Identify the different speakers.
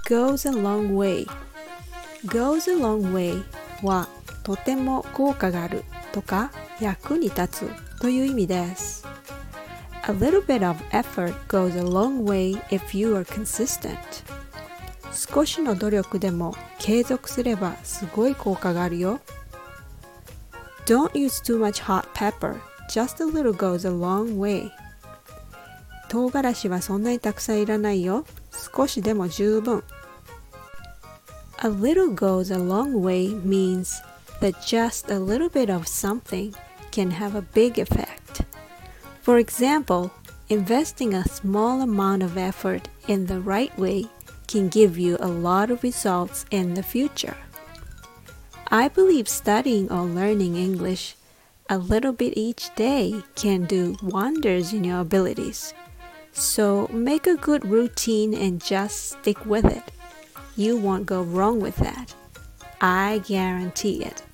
Speaker 1: goes a long way goes a long way はとても効果があるとか役に立つという意味です。A little bit of effort goes a long way if you are consistent. 少しの努力でも継続すればすごい効果があるよ。Don't use too much hot pepper. Just a little goes a long way. 唐辛子はそんなにたくさんいらないよ。少しでも十分。A little goes a long way means that just a little bit of something can have a big effect. For example, investing a small amount of effort in the right way can give you a lot of results in the future. I believe studying or learning English a little bit each day can do wonders in your abilities. So make a good routine and just stick with it. You won't go wrong with that. I guarantee it.